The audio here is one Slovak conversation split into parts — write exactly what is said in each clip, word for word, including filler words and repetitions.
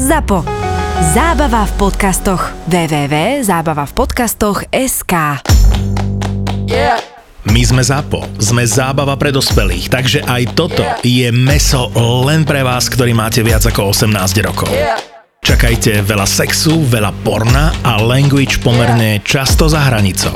Zapo. Zábava v podcastoch. w w w bodka zábava v podcastoch bodka es ká. Yeah. My sme ZAPO, sme zábava pre dospelých, takže aj toto je mäso len pre vás, ktorí máte viac ako osemnásť rokov. Čakajte veľa sexu, veľa porna a language pomerne často za hranicou.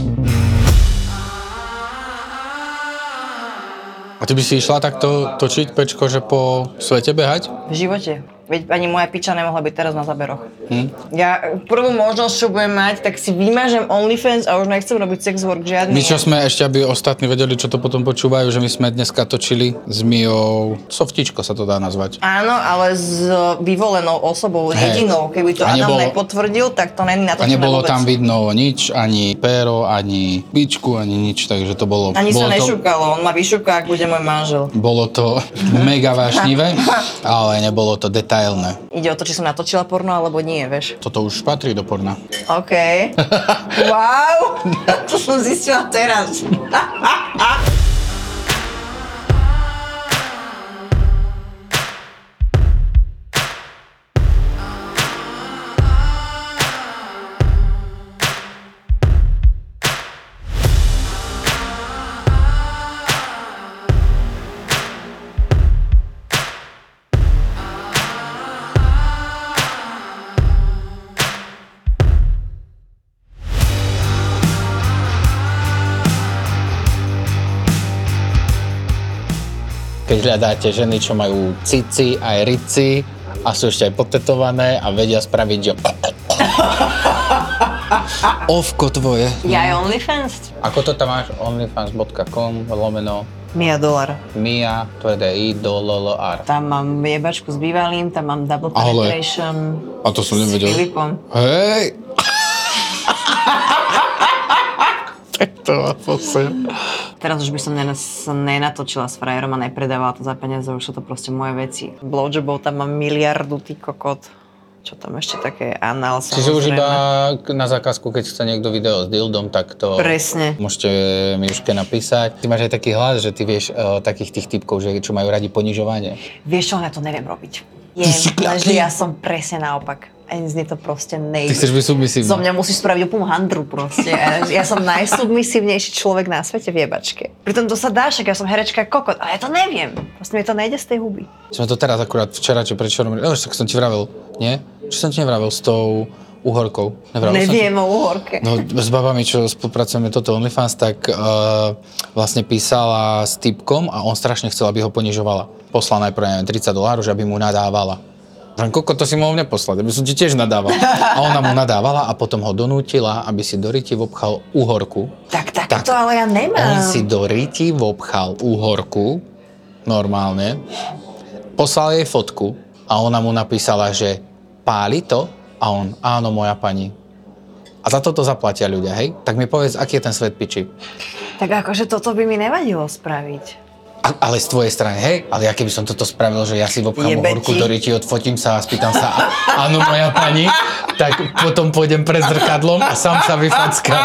A ty by si išla takto točiť, Pečko, že po svete behať? V živote. Veď ani moja piča nemohla byť teraz na záberoch. Hm? Ja prvú možnosť, čo budem mať, tak si vymažem OnlyFans a už nechcem robiť sex work žiadny. My čo sme, ešte aby ostatní vedeli, čo to potom počúvajú, že my sme dneska točili s Mijou, softičko sa to dá nazvať. Áno, ale s vyvolenou osobou, Hej. jedinou. Keby to A Adam nebolo- nepotvrdil, tak to není A natočené nebolo vôbec. tam vidno nič, ani péro, ani bičku, ani nič, takže to bolo... Ani bolo sa to, nešúkalo, on ma vyšúka, ak bude môj manžel. bolo to mega vášnivé, ale nebolo to detailné. Ide o to, či som natočila porno, alebo nie, vieš. Toto už patrí do porna. OK. Wow, to som zistila teraz. Keď hľadáte ženy, čo majú cici, aj rici a sú ešte aj potetované a vedia spraviť, že... Ovko tvoje. Ja aj OnlyFans? Ako to tam máš? onlyfans bodka com lomeno Mia dolar. Mia, tvrdé I, do, L, L, R. Tam mám jebačku s bývalým, tam mám double Ale- penetration. A to som nevedel. S Filipom. Hej! Tak to má posem. Teraz už by som nenas- nenatočila s frajerom a nepredávala to za peniaze, už sú to proste moje veci. Blowjobov tam mám miliardu, ty kokot. Čo tam ešte také anál, samozrejme. Čiže už iba na zákazku, keď chce niekto video s dildom, tak to... Presne. Môžete Miuške napísať. Ty máš aj taký hlas, že ty vieš uh, takých tých typkov, že čo majú radi ponižovanie. Vieš čo, ja to neviem robiť. Je, Ty si lenže kľaký. ja som presne naopak. Ani z to proste nejde. Ty chceš byť submisívny. Zo mňa musíš spraviť úplnú handru proste. Ja, ja som najsubmisívnejší človek na svete v jebačke. Pritom to sa dá, však ja som herečka kokot, ale ja to neviem. Proste mi to nejde z tej huby. Sme to teraz akurát včera, či predčerom, no, tak som ti vravel, nie? Čo som ti nevravel s tou uhorkou? Nevravel Neviem som ti? o uhorke. No s babami, čo spolupracujeme toto OnlyFans, tak uh, vlastne písala s typkom a on strašne chcel, aby ho ponižovala. Poslal najprv, neviem, tridsať dolárov, že aby mu nadávala. Že koko, to si mohol neposlať, aby som ti tiež nadával. A ona mu nadávala a potom ho donútila, aby si do ryti vobchal uhorku. Tak takéto ale ja nemám. On si do ryti vobchal uhorku, normálne, poslal jej fotku a ona mu napísala, že páli to? A on, áno, moja pani. A za toto zaplatia ľudia, hej? Tak mi povedz, aký je ten svet piči. Tak akože toto by mi nevadilo spraviť. A, ale z tvojej strany, hej? Ale ja keby som toto spravil, že ja si vobchám Jebe uhorku ti. do ryti, odfotím sa a spýtam sa, "A- áno, moja pani, tak potom pôjdem pred zrkadlom a sám sa vyfackám.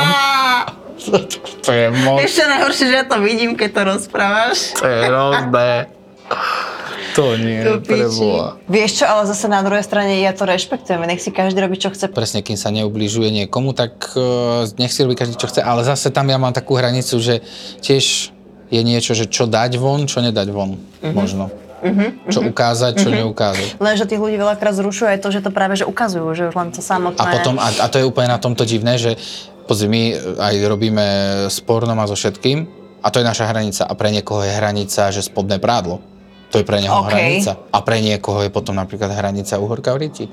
To je moc. Ešte najhoršie, že ja to vidím, keď to rozprávaš. To je hrozné. To nie, To piči. preboha. Vieš čo, ale zase na druhej strane ja to rešpektujem, nech si každý robí, čo chce. Presne, kým sa neubližuje niekomu, tak uh, nech si robí každý, čo chce. Ale zase tam ja mám takú hranicu, že tiež je niečo, že čo dať von, čo nedať von. Uh-huh. Možno. Uh-huh. Čo ukázať, čo uh-huh. neukázať. Lenže tých ľudí veľakrát zrušuje aj to, že to práve že ukazujú, že už len to samotné. A potom, a, a to je úplne na tomto divné, že pozri, my aj robíme s pornom a so všetkým a to je naša hranica. A pre niekoho je hranica, že spodné prádlo. To je pre neho OK. hranica. A pre niekoho je potom napríklad hranica uhorka v ryti.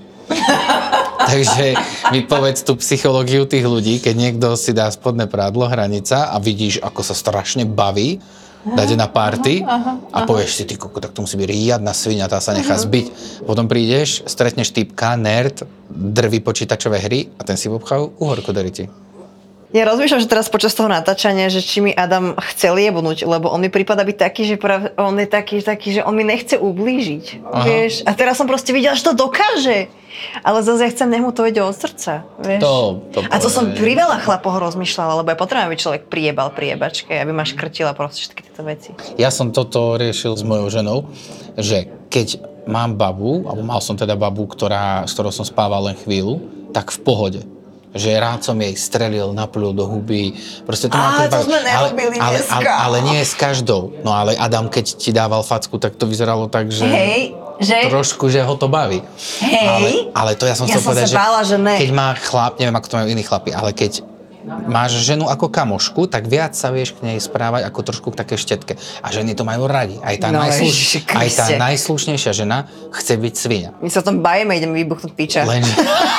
Takže mi povedz tú psychológiu tých ľudí, keď niekto si dá spodné prádlo, hranica a vidíš, ako sa strašne baví, dáte na party a povieš si, ty koko, tak to musí byť riadna sviňa, tá sa nechá zbiť. Potom prídeš, stretneš typka, nerd, drví počítačové hry a ten si obchal uhorku do ryti. Ja rozmýšľam, že teraz počas toho natáčania, že či mi Adam chcel jebnúť, lebo on mi prípada byť taký, že práve, on je taký, taký, že on mi nechce ublížiť, Aha. vieš. A teraz som proste videla, že to dokáže. Ale zase ja chcem, nech mu to ide od srdca, vieš. To- to a to som povie. pri veľa chlapoch rozmýšľala, lebo ja potrebujem, aby človek priebal pri jebačke, aby ma škrtila proste všetky tieto veci. Ja som toto riešil s mojou ženou, že keď mám babu, alebo mal som teda babu, ktorá, s ktorou som spával len chvíľu, tak v pohode. Že rád som jej strelil, naplul do huby. Proste to Á, to sme ale, nerobili ale, dneska. ale, ale nie s každou. No ale Adam, keď ti dával facku, tak to vyzeralo tak, že... Hej, že? Trošku, že ho to baví. Hej. Ale, ale to ja som Ja chcel som povedať, sa bála, že ne. keď má chlap, neviem, ako to majú iní chlapi, ale keď máš ženu ako kamošku, tak viac sa vieš k nej správať ako trošku k také štetke. A ženy to majú radi. Aj tá, No, najsluš... Ježiši Aj tá Kriste. najslušnejšia žena chce byť svinia. My sa o tom bajeme, ideme vybuchnúť piča. Lenže...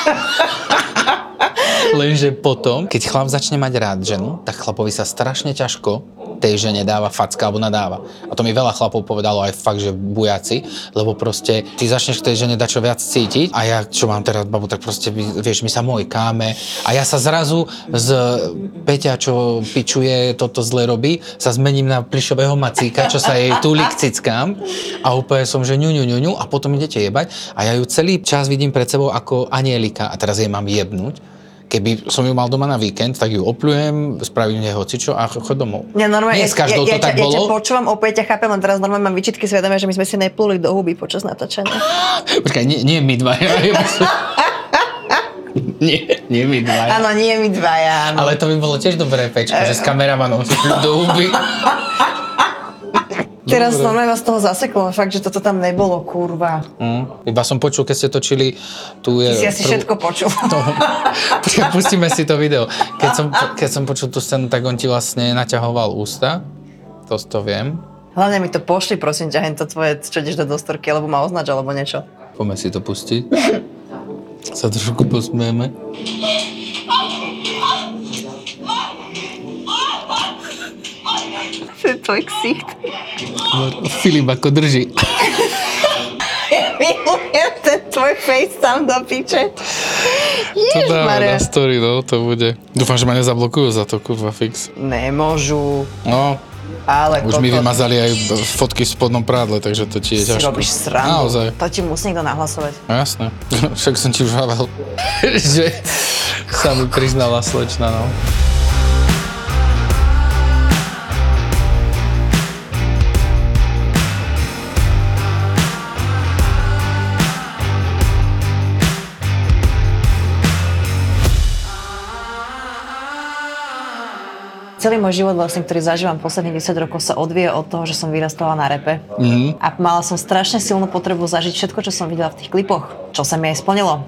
Lenže potom, keď chlap začne mať rád ženu, tak chlapovi sa strašne ťažko tej žene dáva facka alebo nadáva. A to mi veľa chlapov povedalo aj fakt, že bujaci, lebo proste ty začneš k tej žene dačo viac cítiť a ja, čo mám teraz babu, tak proste, vieš, my sa mojkáme a ja sa zrazu z Peťa, čo pičuje, toto zle robí, sa zmením na plišového macíka, čo sa jej túli k cickám a úplne som, že ňu, ňu, ňu, ňu a potom idete jebať a ja ju celý čas vidím pred sebou ako anielika a teraz jej mám jebnúť. Keby som ju mal doma na víkend, tak ju opľujem, spravím nej hocičo a chod domov. Ja normálne, Nie s každou ja, ja, to tak ja, bolo. Ja ťa počúvam, opäť ťa chápem, len teraz normálne mám výčitky svedomia, že my sme si nepluli do huby počas natáčania. Počkaj, nie, nie my dvaja. nie, nie my dvaja. Áno, nie my dvaja, áno. Ale to by bolo tiež dobré, Pečko, že s kameramanom si pľú do huby. Teraz Dobre. normálne vás toho zaseklo, fakt, že toto tam nebolo, kurva. Mm, iba som počul, keď ste točili, tu je... Ty si asi prv- všetko počul. To, počkaj, pustíme si to video. Keď som, keď som počul tú scénu, tak on ti vlastne naťahoval ústa. To to viem. Hlavne mi to pošli, prosím ťa, hen to tvoje, čo ideš do dostorky, alebo ma označ, alebo niečo. Poďme si to pustiť. Sa trošku posmieme. To je tvoj ksicht. Filip ako drží. Milujem ten tvoj face tam do piče. To dáme na Ježmaria. story, no, to bude. Dúfam, že ma nezablokujú za to, kurva, fix. Nemôžu, No, ale už mi kokot. vymazali aj fotky v spodnom prádle, takže to ti je Si ťažko. robíš srandu. Naozaj. To ti musí niekto nahlasovať. No jasné. Však som ti už hával, že sa mi priznala slečna, no. Celý môj život, vlastne, ktorý zažívam posledných desať rokov, sa odvíja od toho, že som vyrastala na repe. Mhm. A mala som strašne silnú potrebu zažiť všetko, čo som videla v tých klipoch. Čo sa mi aj splnilo.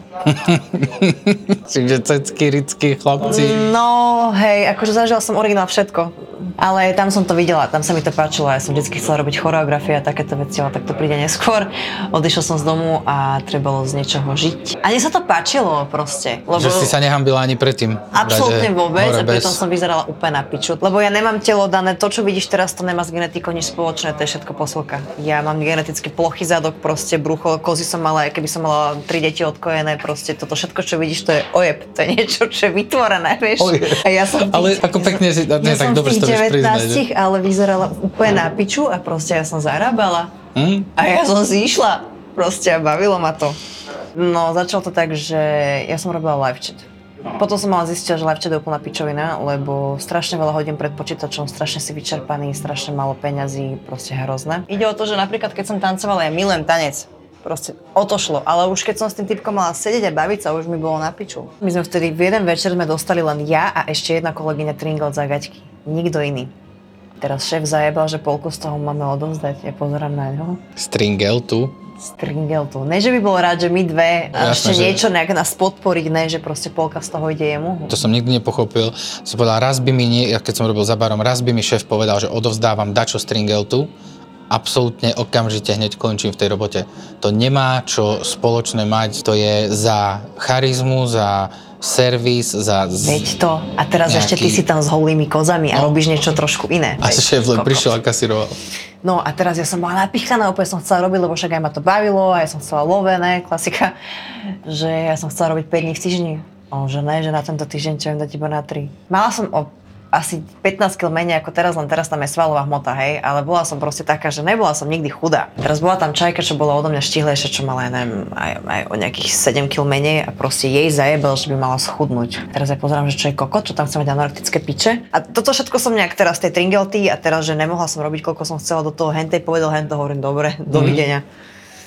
Čiže cecky, ricky, chlapci. No, hej, akože zažila som originál všetko. Ale tam som to videla, tam sa mi to páčilo. Ja som vždy chcela robiť choreografie a takéto veci, ale tak to príde neskôr. Odišla som z domu a trebalo z niečoho žiť. A mne sa to páčilo proste. Lebo... Že si sa nehambila ani predtým. Absolútne Dať, vôbec, hore a pritom bez. som vyzerala úplne na piču. Lebo ja nemám telo dané, to čo vidíš teraz, to nemá s genetikou nič spoločné, to je všetko posilka. Ja mám geneticky plochý zadok, proste brucho, kozy som mala, keby som mala tri deti odkojené, proste toto všetko, čo vidíš, to je ojeb, to je niečo, čo je vytvorené, vieš. Ojeb. A ja som v tých, Ale ako pekne si- ja, nie, ja tak som dobre v si to tých vieš priznať, devätnástich, ale vyzerala úplne na piču a proste ja som zarábala. Hm? A ja som si išla, proste a bavilo ma to. No, začalo to tak, že ja som robila live chat. Potom som mala zistiť, že live chat je úplná pičovina, lebo strašne veľa hodín pred počítačom, strašne si vyčerpaný, strašne málo peňazí, proste hrozné. Ide o to, že napríklad keď som tancovala, ja milujem tanec. Proste o to šlo, ale už keď som s tým typkom mala sedieť a baviť sa, už mi bolo na piču. My sme vtedy v jeden večer sme dostali len ja a ešte jedna kolegyňa Tringel za gaťky. Nikto iný. Teraz šéf zajebal, že polku z toho máme odovzdať. Ja pozerám na ňo. Stringel tu. Stringel tu. Ne, že by bol rád, že my dve a Jasné, ešte že- niečo nejak nás podporiť, ne, že proste polka z toho ide jemu. To som nikdy nepochopil. Som povedal, raz by mi, nie, ja keď som robil za barom, raz by mi šéf povedal, že odovzdávam dačo Stringeltu. Absolútne okamžite hneď končím v tej robote. To nemá čo spoločné mať, to je za charizmu, za servis, za... z- Veď to. A teraz nejaký- ešte ty si tam s holými kozami a No. robíš niečo trošku iné. A Veď, šéf len kokos. prišiel a kasiroval. No a teraz ja som bola napichaná, úplne som chcela robiť, lebo však aj ma to bavilo, a ja som chcela love, ne, klasika, že ja som chcela robiť päť dní v týždni. On, že ne, že na tento týždeň čo viem dať iba na tri. Mala som o asi pätnásť kilogramov menej ako teraz, len teraz tam je svalová hmota, hej, ale bola som proste taká, že nebola som nikdy chudá. Teraz bola tam čajka, čo bola odo mňa štihlejšia, čo mala, ja neviem, aj, aj o nejakých sedem kilogramov menej a proste jej zajebal, že by mala schudnúť. Teraz ja pozerám, že čo je kokot, čo tam chce mať anorektické piče. A toto všetko som nejak teraz tej Tringelty a teraz, že nemohla som robiť, koľko som chcela do toho hentej, povedal hento, hovorím, dobre, dovidenia.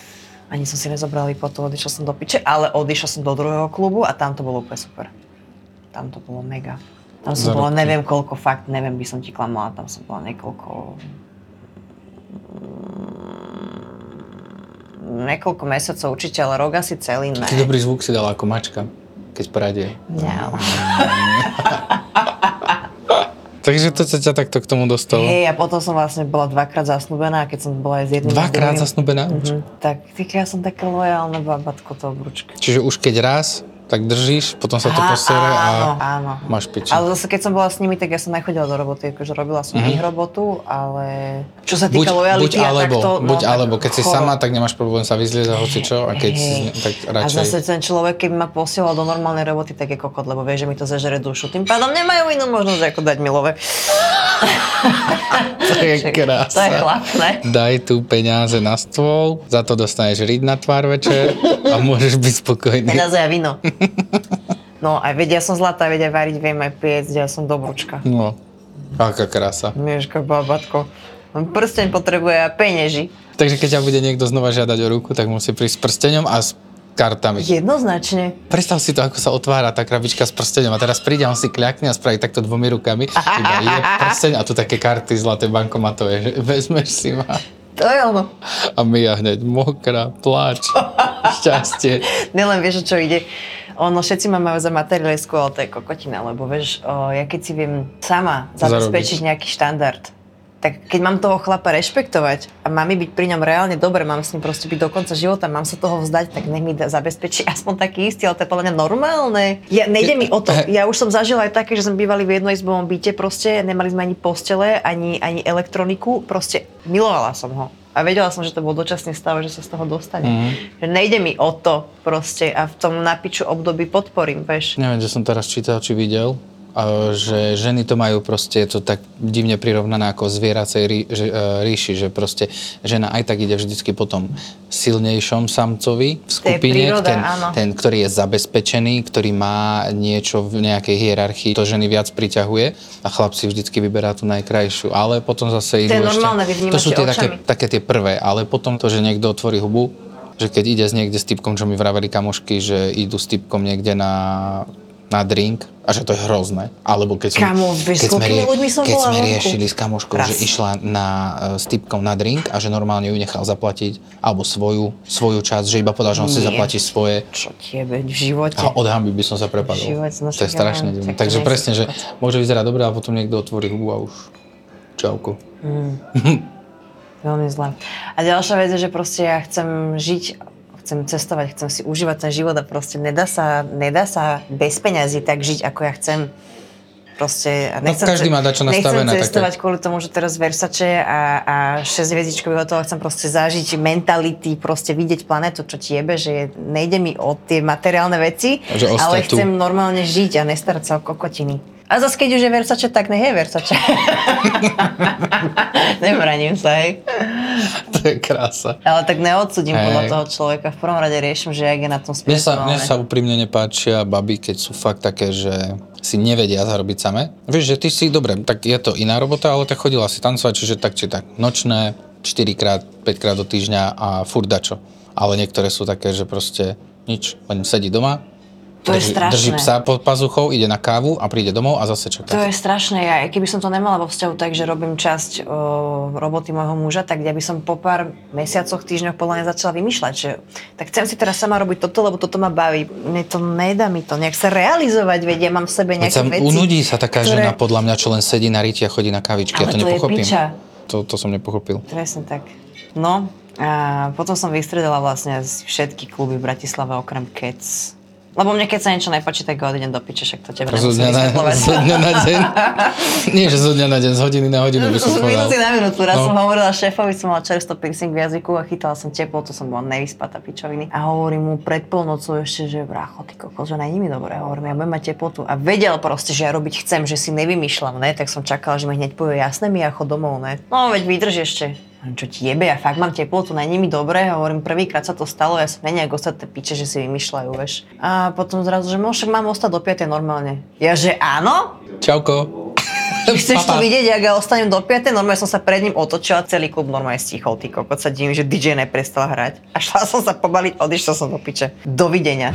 Ani som si nezobral výplatu, odišiel som do piče, ale odišiel som do druhého klubu a tam to bolo úplne super. Tam to bolo mega. Tam som bola neviem koľko, fakt neviem, by som ti klamala, tam som bola niekoľko... Niekoľko mesiacov určite, ale rok asi celý ne. Taký dobrý zvuk si dala ako mačka, keď pradie. No. Takže to sa ťa takto k tomu dostalo? Hej, a potom som vlastne bola dvakrát zasnúbená, a keď som bola aj s jedným... Dvakrát zasnúbená? Mhm. Tak, ja som také lojálne babatko, to obručka. Čiže už keď raz, tak držíš, potom sa to Á, posere a áno, áno. máš piči. Ale zase keď som bola s nimi, tak ja som nechodila do roboty, akože robila som mm-hmm. ich robotu, ale čo sa týka buď, lojality buď alebo, a takto... buď no, alebo, keď si choro. sama, tak nemáš problém sa vyzliezť za hocičo a keď si, tak radšej... A zase ten človek, keby ma posielal do normálnej roboty, tak je kokot, lebo vie, že mi to zažere dušu. Tým pádom nemajú inú možnosť, ako dať mi love. To je krása. To je chlapné. Daj tu peniaze na stôl, za to dostaneš riť na tvár večer a môžeš byť spokojný. Peniaze a víno. No aj vedia, ja som zlatá, vedia variť, viem aj piecť, ja som dobrúčka. No, aká krása. Mieška, babatko. Prsteň potrebuje a penieži. Takže keď ťa bude niekto znova žiadať o ruku, tak musí prísť s prsteňom a s kartami. Jednoznačne. Predstav si to, ako sa otvára tá krabička s prsteňom a teraz príde, on si kľakne a spraví takto dvomi rukami, iba je prsteň a tu také karty zlaté bankomatové, že vezmeš si ma. To je ono. A Mia hneď mokrá, pláč, šťastie. Nelen vieš, o čo ide. Ono, všetci ma majú za materialistku, ale to je kokotina, lebo vieš, o, ja keď si viem sama zabezpečiť nejaký štandard, tak keď mám toho chlapa rešpektovať a mám mi byť pri ňom reálne dobre, mám s ním proste byť do konca života, mám sa toho vzdať, tak nech mi zabezpečí aspoň taký istý, ale to je podľa mňa normálne. Ja, nejde mi o to. Ja už som zažila aj také, že sme bývali v jednoizbovom byte proste, nemali sme ani postele, ani, ani elektroniku, proste milovala som ho. A vedela som, že to bol dočasný stav, že sa z toho dostane. Mm. Že nejde mi o to proste a v tom napiču období podporím, vieš. Neviem, že som teraz čítal, či videl, že ženy to majú proste, je to tak divne prirovnané ako zvieracej rí, ríši, že proste žena aj tak ide vždycky po tom silnejšom samcovi v skupine, príroda, ten, ten, ktorý je zabezpečený, ktorý má niečo v nejakej hierarchii, to ženy viac priťahuje a chlap si vždycky vyberá tú najkrajšiu, ale potom zase idú ešte... To sú tie také, také tie prvé, ale potom to, že niekto otvorí hubu, že keď ide s niekde s typkom, čo mi vraveli kamošky, že idú s typkom niekde na... na drink a že to je hrozné. Alebo keď, Kamo, som, keď, sme, rie, keď sme riešili s kamoškou, Raz. že išla na, s typkom na drink a že normálne ju nechal zaplatiť alebo svoju, svoju časť, že iba povedal, že on si zaplatí svoje. Čo tiebe v živote? A od hamby by som sa prepadol. Život, no, to je strašne divné. Takže presne, že môže vyzerať dobre a potom niekto otvorí hubu a už čauko. Mm. Veľmi zlé. A ďalšia vec je, že proste ja chcem žiť, chcem cestovať, chcem si užívať ten život a proste nedá sa, nedá sa bez peňazí tak žiť, ako ja chcem. Proste, a nechcem, no, každý má dačo nastavené. Nechcem cestovať také. Kvôli tomu, že teraz Versace a, a šesť hviezdičkový hotel, chcem proste zažiť mentality, proste vidieť planetu, čo ti jebe, že nejde mi o tie materiálne veci, ale chcem tu. Normálne žiť a nestarať sa o kokotiny. A zase keď už je Versace, tak nech je Versace. Nebraním sa, hej. To je krása. Ale tak neodsudím hey. Podľa toho človeka. V prvom rade riešim, že jak je na tom spirituálne. Mne sa, mne sa úprimne nepáčia baby, keď sú fakt také, že si nevedia zarobiť same. Vieš, že ty si, dobre, tak je to iná robota, ale tak chodila si tancovať, čiže tak či tak nočné, štyrikrát, päťkrát do týždňa a furt dačo. Ale niektoré sú také, že proste nič, len sedí doma. To drží, je strašné. Drží psa pod pazuchou, ide na kávu a príde domov a zase čaká. To je strašné. Ja, keby som to nemala vo vzťahu tak, že robím časť o, roboty môjho muža, tak ja by som po pár mesiacoch, týždňoch podľa mňa začala vymýšľať, že tak chcem si teraz sama robiť toto, lebo toto ma baví. Mne to nedá mi to nejak sa realizovať, veď ja mám v sebe nejaké veci. Unudí sa taká ktoré... žena, podľa mňa, čo len sedí na riti a chodí na kávičky. Ale ja to, to nepochopím. Je piča. To, to som nepochopil. Presne tak. No a potom som vystredala vlastne všetky kluby v Bratislave okrem Cats. Lebo mne keď sa niečo nepáči, tak ho odídem do piče, však to tebe nemusím vysvetľovať. Zo dňa na deň? Nie, že zo dňa na deň, z hodiny na hodinu by som povedal. Z minúty na minútu. Raz no. som hovorila šéfovi, som mala čersto piercing v jazyku a chytala som teplotu, som bola nevyspatá pičoviny. A hovorím mu pred polnocou ešte, že brácho, ty kokos, že není mi dobre. Hovorím, ja budem mať teplotu. A vedel proste, že ja robiť chcem, že si nevymýšľam, ne? Tak som čakala, že mi hneď povie, jasné mi, ja chod domov, ne? No veď vydrž ešte. Čo ti jebe, ja fakt mám teplotu, není mi dobre, hovorím, prvýkrát sa to stalo, ja som nejak ostatné piče, že si vymýšľajú, vieš. A potom zrazu, že môžem, mám ostať do piatej normálne. Ja, že áno? Čauko. Chceš to vidieť, ak ja ostanem do piatej, normálne som sa pred ním otočila, celý klub normálne stichol, ty kokot, sa divím, že dý džej neprestal hrať. A šla som sa pobaliť, odišla som do piče. Dovidenia.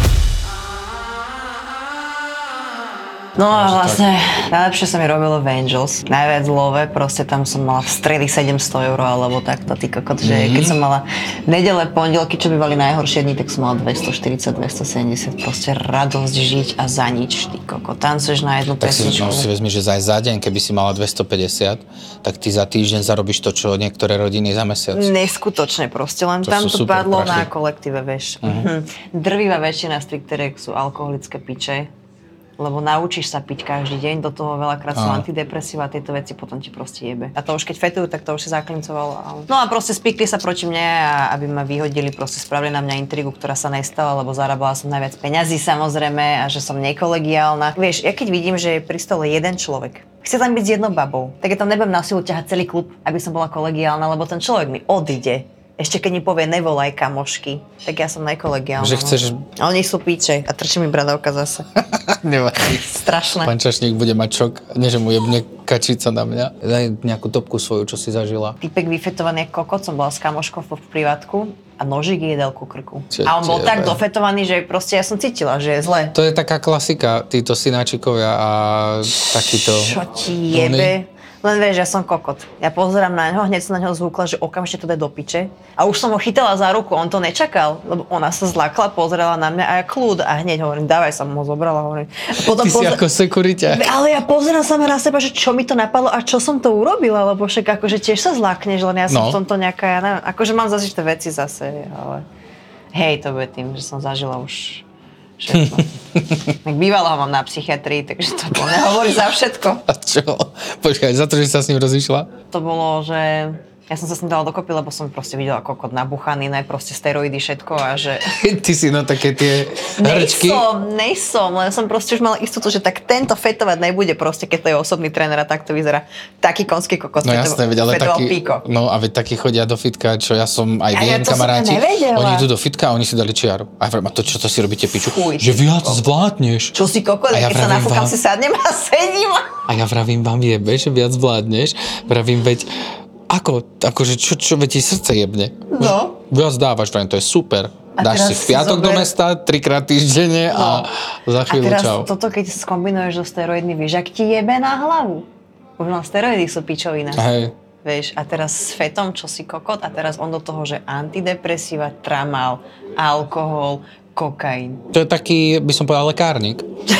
No a vlastne najlepšie sa mi robilo v Angels. Najviac love, proste tam som mala v stredy sedemsto eur alebo takto, ty kokot, že mm-hmm. keď som mala nedele, pondelky, čo bývali najhoršie dni, tak som mala dvestoštyridsať, dvestosedemdesiat, proste radosť žiť a za nič, ty kokot. Tancuješ na jednu tak pesničku. Tak si, no, si vezmi, že za, za deň, keby si mala dvestopäťdesiat, tak ty za týždeň zarobíš to, čo niektoré rodiny za mesiac. Neskutočne proste, len to tam to padlo prachy. Na kolektíve, vieš. Mm-hmm. Drvivá väčšina strikteriek sú alkoholické piče. Lebo naučíš sa piť každý deň, do toho veľakrát sú antidepresíva a tieto veci potom ti proste jebe. A to už keď fetujú, tak to už si zaklincovalo. Ale... No a proste spikli sa proti mne a aby ma vyhodili, proste spravili na mňa intrigu, ktorá sa nestala, lebo zarábala som najviac peňazí samozrejme a že som nekolegiálna. Vieš, ja keď vidím, že je pri stole jeden človek, chce tam byť s jednou babou, tak ja tam nebudem na silu ťahať celý klub, aby som bola kolegiálna, lebo ten človek mi odíde. Ešte keď mi povie nevolaj kamošky, tak ja som nekolegiálna. Že chceš... A oni sú píče a trčí mi bradavka zase. Nevadí. Strašné. Pán Čašník bude mať šok, nie že mu jebne kačica na mňa. Daj nejakú topku svoju, čo si zažila. Typek vyfetovaný ako kokot, som bola s kamoškou v privátku a nožík jedel ku krku. Čo a on bol tebe. tak dofetovaný, že proste ja som cítila, že je zle. To je taká klasika, títo synáčikovia a takýto... Čo ti jebe? Len vieš, ja som kokot. Ja pozerám na ňo, hneď som na ňo zvúkla, že okamžite to dá do piče. A už som ho chytala za ruku, on to nečakal, lebo ona sa zlakla, pozerala na mňa a ja kľud a hneď hovorím, dávaj, som ho zobrala, hovorím. Potom Ty pozer... si ako sekuriťa. Ale ja pozerám sama na seba, že čo mi to napadlo a čo som to urobila, lebo však akože tiež sa zlakneš, len ja som no. v tomto nejaká, ja neviem, akože mám zažité veci zase, ale hej, to bude tým, že som zažila už všetko. Tak bývalo ho mám na psychiatrii, takže to bolo, nehovorí za všetko. A čo? Počkaj, za to, že sa s ním rozišla? To bolo, že ja som sa s ním dala dokopy, lebo som proste videla kokot nabuchaný, naj proste steroidy, všetko a že... Ty si na také tie hrčky? Nejsom, nejsom, len som proste už mala istotu, že tak tento fetovať nebude proste, keď to je osobný tréner a tak to vyzerá. Taký konský kokos. No jasné, veď, ale taký, píko. no a veď takí chodia do fitka, čo ja som aj viem, ja kamaráti. Oni idú do fitka a oni si dali čiaru. A ja vravím, a to čo to si robíte piču? Fuj, že viac zvládneš. Čo si kokos, ja keď sa nafúkam, vám... si sadnem a sedím. A ja vravím, vám jebe, že viac zvládneš. Vravím, veď Ako, akože čo, čo, veď ti srdce jebne. No. Viac dávaš, vrajím, to je super. A dáš si v piatok zober... do mesta, trikrát týždenne no. a za chvíľu čau. A teraz čau. toto, keď skombinuješ so steroidmi, vieš, ak ti jebe na hlavu. Už len steroidy sú pičovina. Hej. Vieš, a teraz s fetom, čo si kokot, a teraz on do toho, že antidepresíva, tramal, alkohol, kokain. To je taký, by som povedal, lekárnik.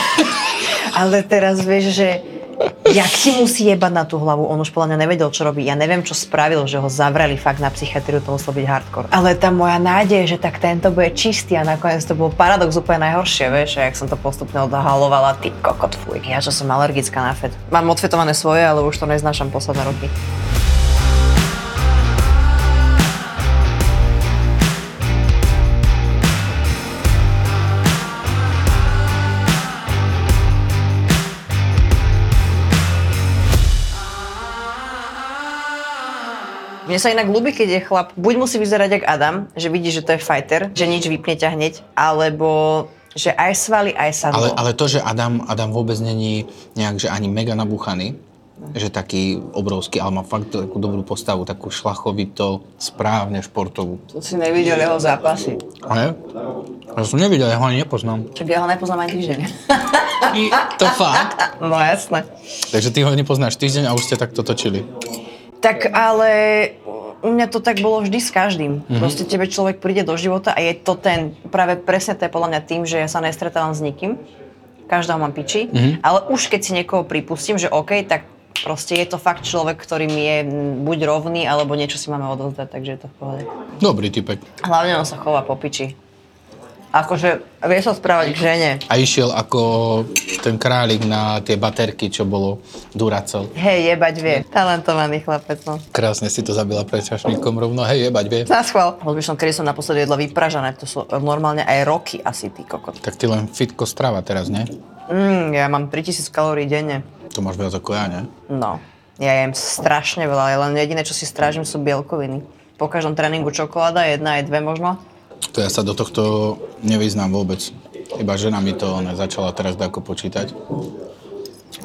Ale teraz vieš, že jak si musí jebať na tú hlavu, on už podľa mňa nevedel, čo robí. Ja neviem, čo spravil, že ho zavreli fakt na psychiatriu, to muselo byť hardcore. Ale tá moja nádej, že tak tento bude čistý a nakoniec to bol paradox úplne najhoršie, vieš, a jak som to postupne odhalovala, ty kokot, fuj. Ja čo som alergická na fet. Mám odfetované svoje, ale už to neznášam posledné roky. Mne sa inak ľúbi, keď je chlap, buď musí vyzerať jak Adam, že vidí, že to je fighter, že nič vypne ťa hneď, alebo že aj svaly, aj sadlo. Ale, ale to, že Adam, Adam vôbec není nejak, že ani mega nabuchaný, no. že taký obrovský, ale má fakt takú dobrú postavu, takú šlachovito, správne športovú. To si nevidel jeho zápasy. Ne? Ja som nevidel, ja ho ani nepoznám. Čak ja ho nepoznám ani týždeň. To fakt? No jasné. Takže ty ho nepoznáš týždeň a už ste takto točili. Tak ale u mňa to tak bolo vždy s každým. Mm-hmm. Proste tebe človek príde do života a je to ten, práve presne to je podľa mňa tým, že ja sa nestretávam s nikým. Každého mám piči. Mm-hmm. Ale už keď si niekoho pripustím, že OK, tak proste je to fakt človek, ktorý mi je buď rovný, alebo niečo si máme odovzdať, takže je to v pohode. Dobrý typek. Hlavne on sa chová po piči. Akože vie sa správať k žene. A išiel ako ten králik na tie baterky, čo bolo Duracell. Hej, jebať vie. Talentovaný chlapec, no. Krásne si to zabila pred čašníkom rovno. Hej, jebať vie. Na schvál. Rozmýšľam, kedy som naposledy jedla vypražané. To sú normálne aj roky asi, ty kokot. Tak ty len fitko strava teraz, nie? Mm, ja mám tritisíc kalórií denne. To máš viac ako ja, nie? No. Ja jem strašne veľa, ale len jediné, čo si strážim, sú bielkoviny. Po každom tréningu čokoláda, jedna aj dve možno. To ja sa do tohto nevyznám vôbec. Iba žena mi to ona začala teraz dako počítať.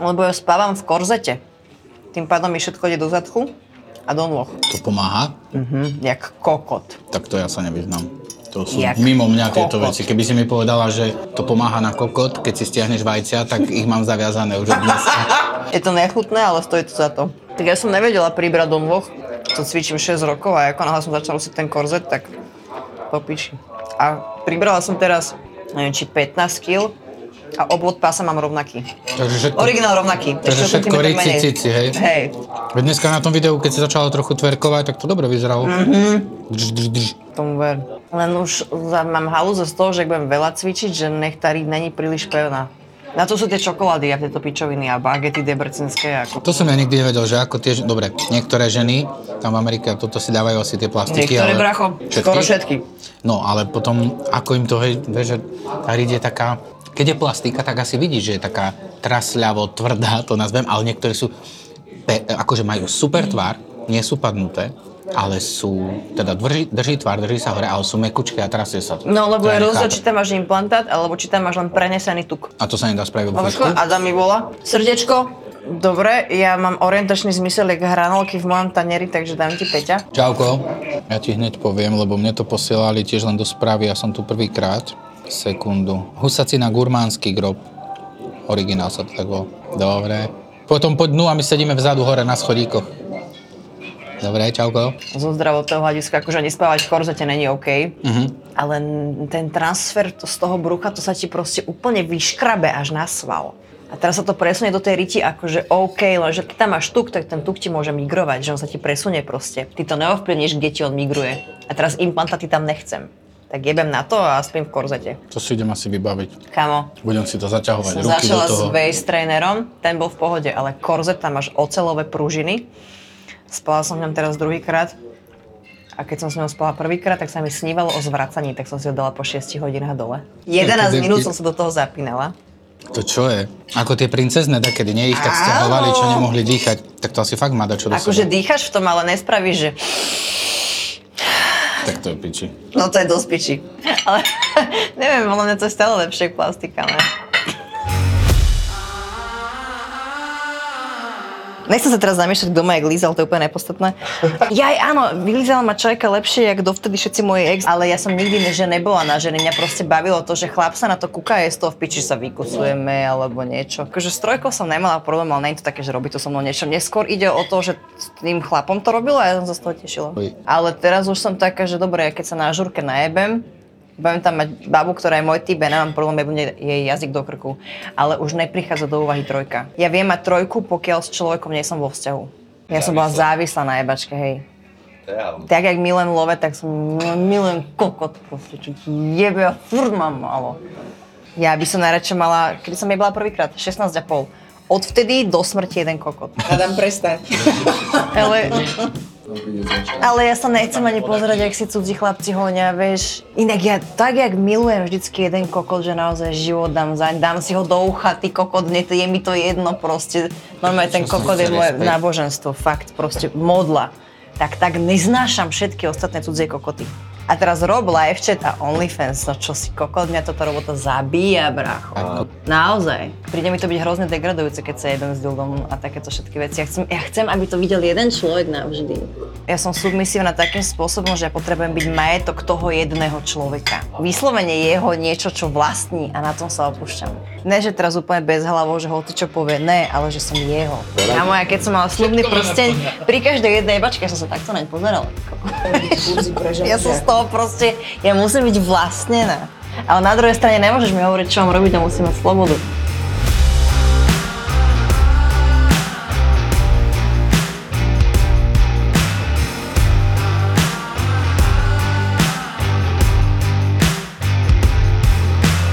Lebo ja spávam v korzete. Tým pádom mi všetko ide do zadku a do nôh. To pomáha? Mhm, jak kokot. Tak to ja sa nevyznám. To sú Jak mimo mňa tieto kokot. veci. Keby si mi povedala, že to pomáha na kokot, keď si stiahneš vajcia, tak ich mám zaviazané už od dneska. Je to nechutné, ale stojí to za to. Tak ja som nevedela pribrať do nôh, to cvičím šesť rokov a ako náhle som začala nosiť ten korzet, tak popiči. A pribrala som teraz, neviem, či pätnásť kíl a obvod pása mám rovnaký. Takže všetko, Originál rovnaký. takže Ešte všetko centimetr rici, menej. cici, hej? Hej. Veď dneska na tom videu, keď si začala trochu tverkovať, tak to dobre vyzeralo. Mm-hmm. Drž, drž, drž. Tomu ver. Len už za, mám halúze z toho, že ak budem veľa cvičiť, že nech tá riť není príliš pevná. Na to sú tie čokolády a tieto pičoviny a bagety debrecinské. Ako... To som ja nikdy nevedel, že ako tie... Dobre, niektoré ženy tam v Amerike toto si dávajú asi tie plastiky, Niektoré, ale... bracho, skoro všetky. No, ale potom, ako im to, hej, vieš, že tá riť je taká... Keď je plastika, tak asi vidíš, že je taká trasľavo, tvrdá, to nazvem, ale niektoré sú... Pe, akože majú super tvár, nie sú padnuté, ale sú, teda drží, drží tvár, drží sa hore, ale sú mekučké a trasie sa to. No, lebo To je ja rozdiel, nechápem. či tam máš implantát, alebo či tam máš len prenesený tuk. A to sa nedá spraviť vo Mamečko, fúšku? Adam mi volá. Srdiečko, dobre, ja mám orientačný zmysel, jak hranolky v mojom tanieri, takže dám ti Peťa. Čauko, ja ti hneď poviem, lebo mne to posielali tiež len do správy, ja som tu prvýkrát. Sekundu. Husacina gurmánsky grob. Originál sa to tak volá. Dobre. Potom poď dnu a my sedíme vzadu hore na schodíkoch. Dobre, čauko. Zo zdravotného hľadiska, akože nespávať v korzete není OK, Mhm. ale ten transfer to z toho brucha, to sa ti proste úplne vyškrabe až na sval. A teraz sa to presunie do tej riti akože OK, lenže keď tam máš tuk, tak ten tuk ti môže migrovať, že on sa ti presunie proste. Ty to neovplyvníš, kde ti on migruje. A teraz implantáty tam nechcem. Tak jebem na to a spím v korzete. To si idem asi vybaviť. Kamo, Budem si to zaťahovať, som ruky do začala toho. s waist trainerom, ten bol v pohode, ale korzet, tam máš oceľové pružiny. Spala som v ňom teraz druhýkrát a keď som s ňou spala prvýkrát, tak sa mi snívalo o zvracaní, tak som si ho dala po šiestich hodinách dole. jedenásť Ty- ty- minút som sa do toho zapínala. To čo je? Ako tie princezné, takedy nie ich tak stiahovali, čo nemohli dýchať. Tak to asi fakt má dať čo do Akože seba. dýcháš v tom, ale nespravíš, že... Tak to je piči. No to je dosť piči. Ale neviem, podľa mňa to je stále lepšie plastika, ne? Nechcem sa teraz zamýšľať, kto ma jak lízal, to je úplne nepodstatné. Jaj, áno, vylízala ma čajka lepšie, jak dovtedy všetci moji ex, ale ja som nikdy ne, že nebola na ženy. Mňa proste bavilo to, že chlap sa na to kúka, je z toho v piči, sa vykusujeme alebo niečo. Akože s trojkou som nemala problém, ale nie je to také, že robí to so mnou niečo. Neskôr ide o to, že s tým chlapom to robilo a ja som sa z toho tešila. Oj. Ale teraz už som taká, že dobre, keď sa na žurke najebem, budem tam mať babu, ktorá je môj typ, ja nemám problém, jebnúť jej jazyk do krku. Ale už neprichádza do úvahy trojka. Ja viem mať trojku, pokiaľ s človekom nie som vo vzťahu. Ja som bola závislá na jebačke, hej. Tak jak milujem love, tak som milujem kokot, proste, čo ti jebe a furt mám malo. Ja by som najradšej mala, kedy som jebala prvýkrát, šestnásť a pol. Odvtedy do smrti jeden kokot. Adam, prestaň. Ale... Ale ja sa nechcem ani pozerať, jak si cudzí chlapci honia, vieš. Inak ja tak, jak milujem vždycky jeden kokot, že naozaj život dám zaň, dám si ho do ucha, ty kokot, nie, je mi to jedno proste. Normálne ten kokot je moje náboženstvo, fakt, proste modla. Tak tak neznášam všetky ostatné cudzie kokoty. A teraz rob live chat a OnlyFans, no čo si kokot, mňa toto robota zabíja, brácho. Naozaj. Príde mi to byť hrozne degradujúce, keď sa jeden s dildom a takéto všetky veci. Ja chcem, ja chcem, aby to videl jeden človek navždy. Ja som submisívna takým spôsobom, že ja potrebujem byť majetok toho jedného človeka. Vyslovene jeho niečo, čo vlastní a na tom sa opúšťam. Ne, že teraz úplne bez hlavou, že hoci čo povie, ne, ale že som jeho. A moja, keď som mala slubný prsteň, pri každej jednej jebačke som sa takto naň pozerala. Ja som z toho proste, ja musím byť vlastnená. Ale na druhej strane nemôžeš mi hovoriť, čo mám robiť a musím mať slobodu.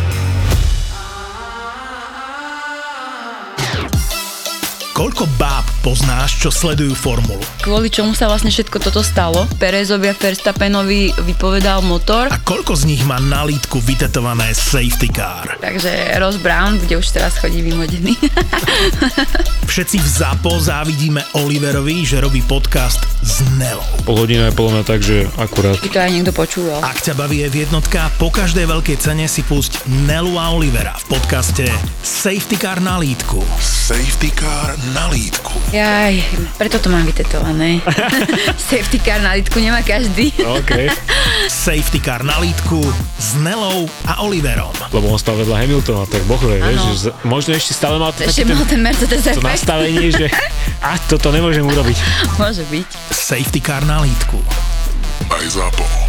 Koľko báb Poznáš, čo sledujú formulu. Kvôli čomu sa vlastne všetko toto stalo? Perezovi a Verstappenovi vypovedal motor. A koľko z nich má na lítku vytetované safety car? Takže Ross Brown, kde už teraz chodí vymodený. Všetci v ZAPO závidíme Oliverovi, že robí podcast s Nelou. Pol hodina je podľa mňa tak, že akurát. By to aj niekto počúval. Ak ťa baví je jednotka, po každej veľkej cene si pusť Nelu a Olivera v podcaste Safety Car na lítku. Safety Car na lítku. Jaj, preto to mám vytetované. Safety car na lítku nemá každý. OK. Safety Car na lítku s Nelou a Oliverom. Lebo on stal vedľa Hamiltona, tak boh vie, vieš, Áno. že z- možno ešte stále mal to Ešte taký mal ten Mercedes to efekt. nastavenie, že a toto nemôžem urobiť. Môže byť. Safety Car na lítku. Aj ZAPO.